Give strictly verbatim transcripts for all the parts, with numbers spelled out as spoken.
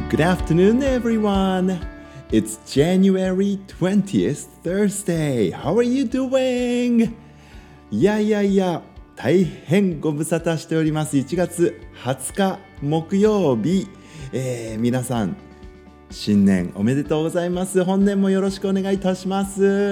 Good afternoon, everyone. It's January twentieth, Thursday. How are you doing? いやいやいや、大変ご無沙汰しております。いちがつはつか木曜日、えー、皆さん新年おめでとうございます。本年もよろしくお願いいたします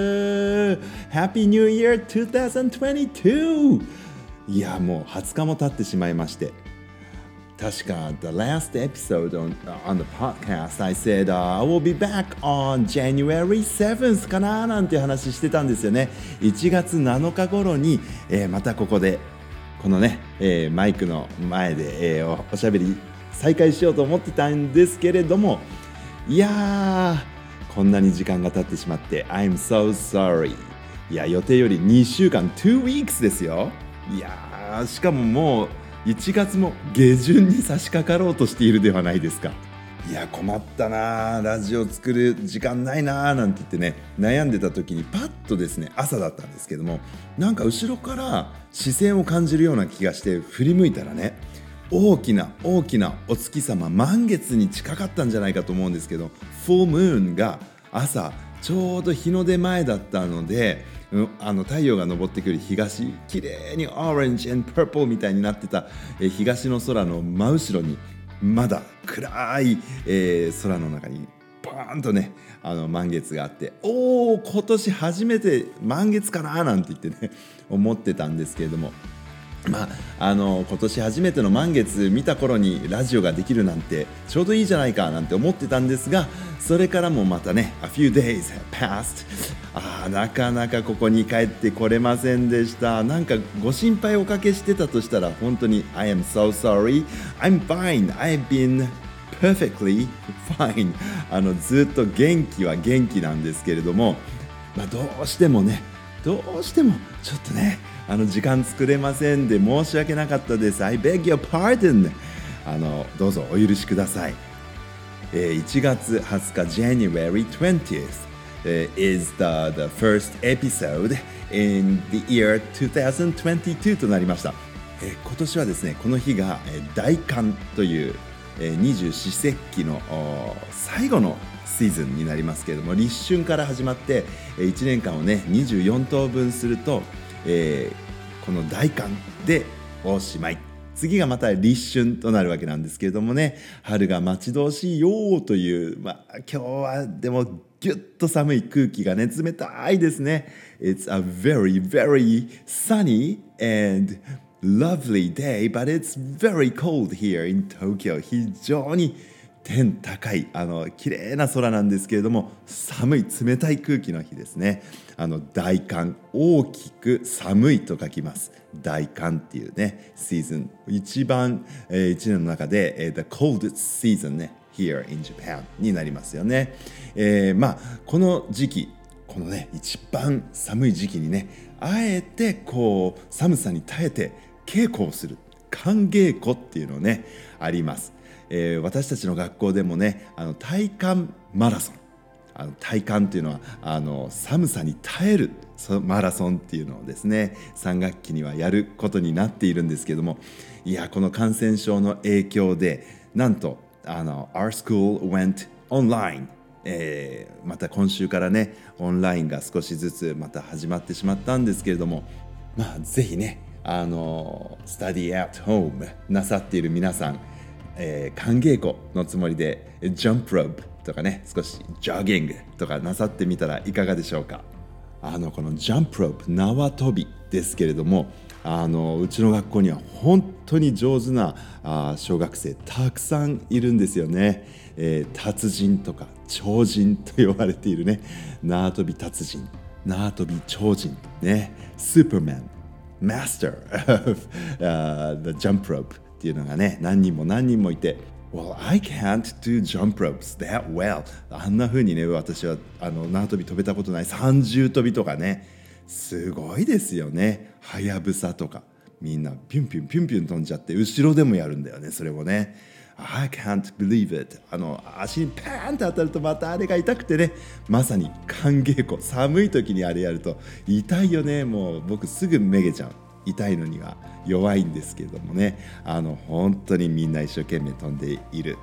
。Happy New Year twenty twenty-two! いや、もうはつかも経ってしまいまして、確か the last episode on, on the podcast I said、uh, I will be back on January seventh かななんて話してたんですよね。いちがつなのか頃に、えー、またここでこのね、えー、マイクの前で、えー、お, おしゃべり再開しようと思ってたんですけれども、いやーこんなに時間が経ってしまって I'm so sorry。 いや予定よりにしゅうかん two weeks ですよ。いやーしかももういちがつも下旬に差し掛かろうとしているではないですか。いや困ったな、ラジオ作る時間ないななんて言ってね悩んでた時にパッとですね、朝だったんですけども、なんか後ろから視線を感じるような気がして振り向いたらね、大きな大きなお月様満月に近かったんじゃないかと思うんですけど、フルムーンが朝ちょうど日の出前だったので、あの太陽が昇ってくる東、綺麗にオレンジ&パープルみたいになってた、え東の空の真後ろにまだ暗い、えー、空の中にバーンとねあの満月があって、おお今年初めて満月かななんて言ってね思ってたんですけれども、まあ、あの今年初めての満月見た頃にラジオができるなんてちょうどいいじゃないかなんて思ってたんですが、それからもまたね A few days have passed。 あーなかなかここに帰ってこれませんでした。なんかご心配おかけしてたとしたら本当に I am so sorry. I'm fine. I've been perfectly fine。 あのずっと元気は元気なんですけれども、まあ、どうしてもねどうしてもちょっとねあの時間作れませんで申し訳なかったです。 I beg your pardon。 あのどうぞお許しください。えー、いちがつはつか January twentieth、uh, is the, the first episode in the year twenty twenty-two となりました。えー、今年はですねこの日が、えー、大寒という、えー、二十四節気の最後のシーズンになりますけれども、立春から始まっていちねんかんをねにじゅうよんとうぶんすると、えー、この大寒でおしまい。次がまた立春となるわけなんですけれどもね、春が待ち遠しいよという、まあ、今日はでもぎゅっと寒い空気がね冷たいですね。 It's a very very sunny and lovely day, but it's very cold here in Tokyo。 非常に天高いあの綺麗な空なんですけれども、寒い冷たい空気の日ですね。あの大寒、大きく寒いと書きます。大寒っていうねシーズン、一番、えー、一年の中で、えー、the coldest season ね here in Japan になりますよね。えー、まあこの時期、このね一番寒い時期にねあえてこう寒さに耐えて稽古をする寒稽古っていうのねあります。えー、私たちの学校でもねあの体感マラソン、あの体感っていうのはあの寒さに耐えるマラソンっていうのをですねさんがっきにはやることになっているんですけども、いやこの感染症の影響でなんとあの Our school went online、えー、また今週からねオンラインが少しずつまた始まってしまったんですけれども、まあぜひねあの study at home なさっている皆さん、えー、寒稽古のつもりでジャンプロープとかね少しジョギングとかなさってみたらいかがでしょうか。あのこのジャンプロープ縄跳びですけれども、あのうちの学校には本当に上手なあ小学生たくさんいるんですよね。えー、達人とか超人と呼ばれているね縄跳び達人、縄跳び超人ね、スーパーマンマスター of、uh, the jump ropeっていうのがね何人も何人もいて、 Well, I can't do jump ropes that well。 あんな風にね私はあの縄跳び飛べたことない。三重跳びとかねすごいですよね。はやぶさとかみんなピュンピュンピュンピュン飛んじゃって後ろでもやるんだよね。それをね I can't believe it。 あの足にパーンと当たるとまたあれが痛くてね、まさに寒稽古、寒い時にあれやると痛いよね。もう僕すぐめげちゃう。痛いのには弱いんですけれどもね、あの本当にみんな一生懸命飛んでいる。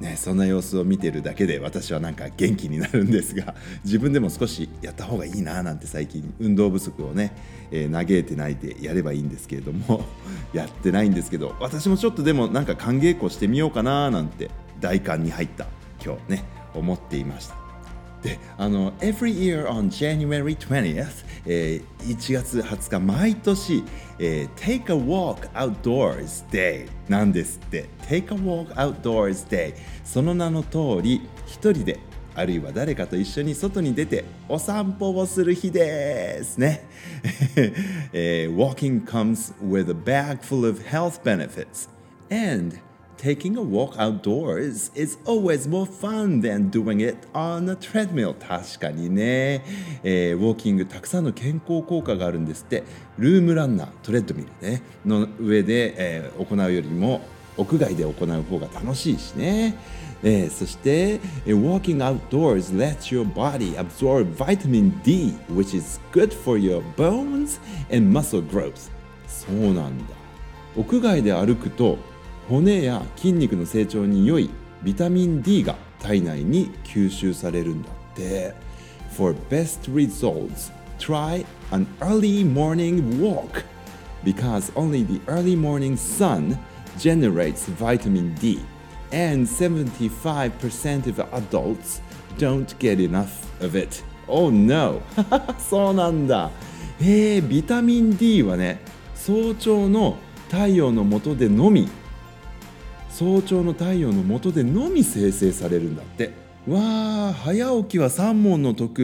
ね、そんな様子を見てるだけで私はなんか元気になるんですが、自分でも少しやった方がいいななんて最近運動不足をね、えー、嘆いてないでやればいいんですけれどもやってないんですけど、私もちょっとでもなんか寒稽古してみようかななんて大寒に入った今日ね思っていました。で、あの Every year on January twentieth、えー、いちがつはつか毎年、えー、Take a Walk Outdoors Day なんですって。 Take a Walk Outdoors Day、 その名の通り一人であるいは誰かと一緒に外に出てお散歩をする日ですね、えー、Walking comes with a bag full of health benefits and Taking a walk outdoors is always more fun than doing it on a treadmill. 確かにね、えー、ウォーキングたくさんの健康効果があるんですって。ルームランナー、トレッドミル、ね、の上で、えー、行うよりも屋外で行う方が楽しいしね、えー、そして、えー、Walking outdoors lets your body absorb vitamin D, which is good for your bones and muscle growth. そうなんだ。屋外で歩くと骨や筋肉の成長に良いビタミン D が体内に吸収されるんだって。 For best results, try an early morning walk because only the early morning sun generates vitamin D and seventy-five percent of adults don't get enough of it. Oh no そうなんだ。えー、ビタミン D はね、早朝の太陽の下でのみ早朝の太陽の下でのみ生成されるんだって。わー、早起きは三問の得って。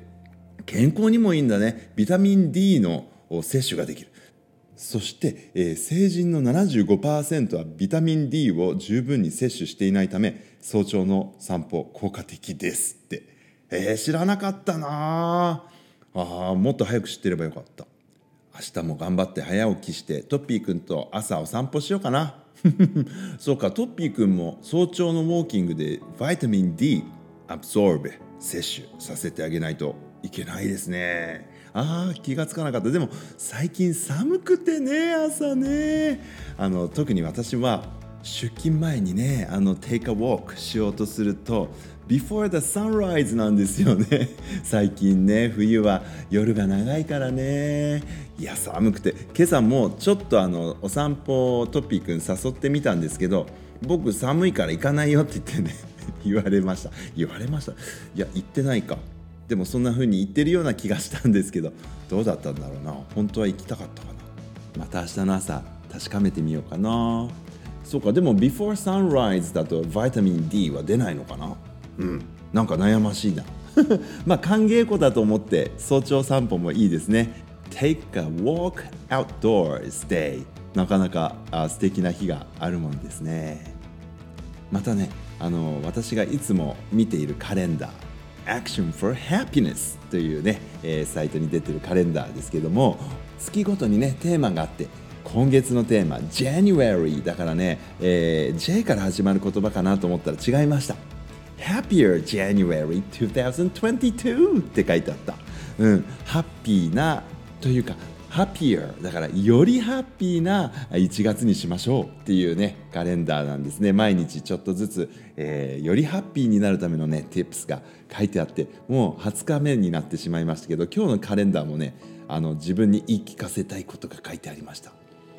健康にもいいんだね。ビタミン D の摂取ができる。そして、えー、成人の ななじゅうごパーセント はビタミン D を十分に摂取していないため、早朝の散歩効果的ですって。えー、知らなかったなあ。あ、もっと早く知ってればよかった。明日も頑張って早起きしてトッピーくんと朝お散歩しようかな。そうか、トッピーくんも早朝のウォーキングでビタミン D アブソーブ摂取させてあげないといけないですね。あー、気がつかなかった。でも最近寒くてね、朝ね、あの特に私は出勤前にね、あの Take a walk しようとすると Before the sunrise なんですよね。最近ね、冬は夜が長いからね。いや、寒くて今朝もちょっとあのお散歩トッピーくん誘ってみたんですけど、僕寒いから行かないよって言ってね言われました言われましたいや、行ってないか。でもそんな風に言ってるような気がしたんですけど、どうだったんだろうな。本当は行きたかったかな。また明日の朝確かめてみようかな。そうか、でも Before Sunrise だとビタミン D は出ないのかな。うん、なんか悩ましいなまあ歓迎湖だと思って早朝散歩もいいですね。 Take a walk outdoors day、 なかなかあ素敵な日があるもんですね。またね、あの私がいつも見ているカレンダー、Action for Happiness というね、えー、サイトに出てるカレンダーですけども、月ごとにねテーマがあって、今月のテーマ January だからね、えー、J から始まる言葉かなと思ったら違いました。 Happier January twenty twenty-two って書いてあった。うん、ハッピーなというかHappier だからよりハッピーないちがつにしましょうっていうねカレンダーなんですね。毎日ちょっとずつ、えー、よりハッピーになるためのね tips が書いてあって、もうはつかめになってしまいましたけど、今日のカレンダーもね、あの自分に言い聞かせたいことが書いてありました。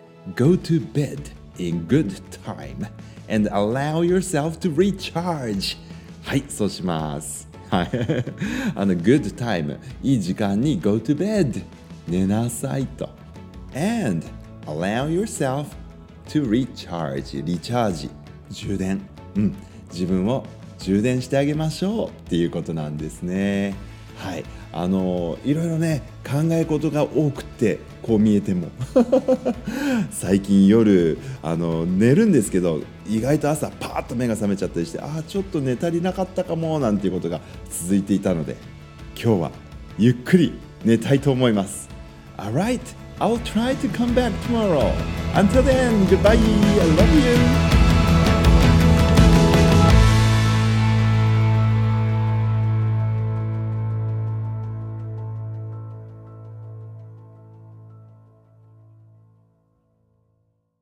Go to bed in good time and allow yourself to recharge。 はい、そうします。はいあの good time、 いい時間に go to bed、寝なさいと。 And allow yourself to recharge、 リチャージ、充電、うん、自分を充電してあげましょうっていうことなんですね。はい、あのいろいろね考え事が多くて、こう見えても最近夜あの寝るんですけど、意外と朝パーッと目が覚めちゃったりして、ああちょっと寝足りなかったかもなんていうことが続いていたので、今日はゆっくり寝たいと思います。Alright, I'll try to come back tomorrow. Until then, goodbye. I love you.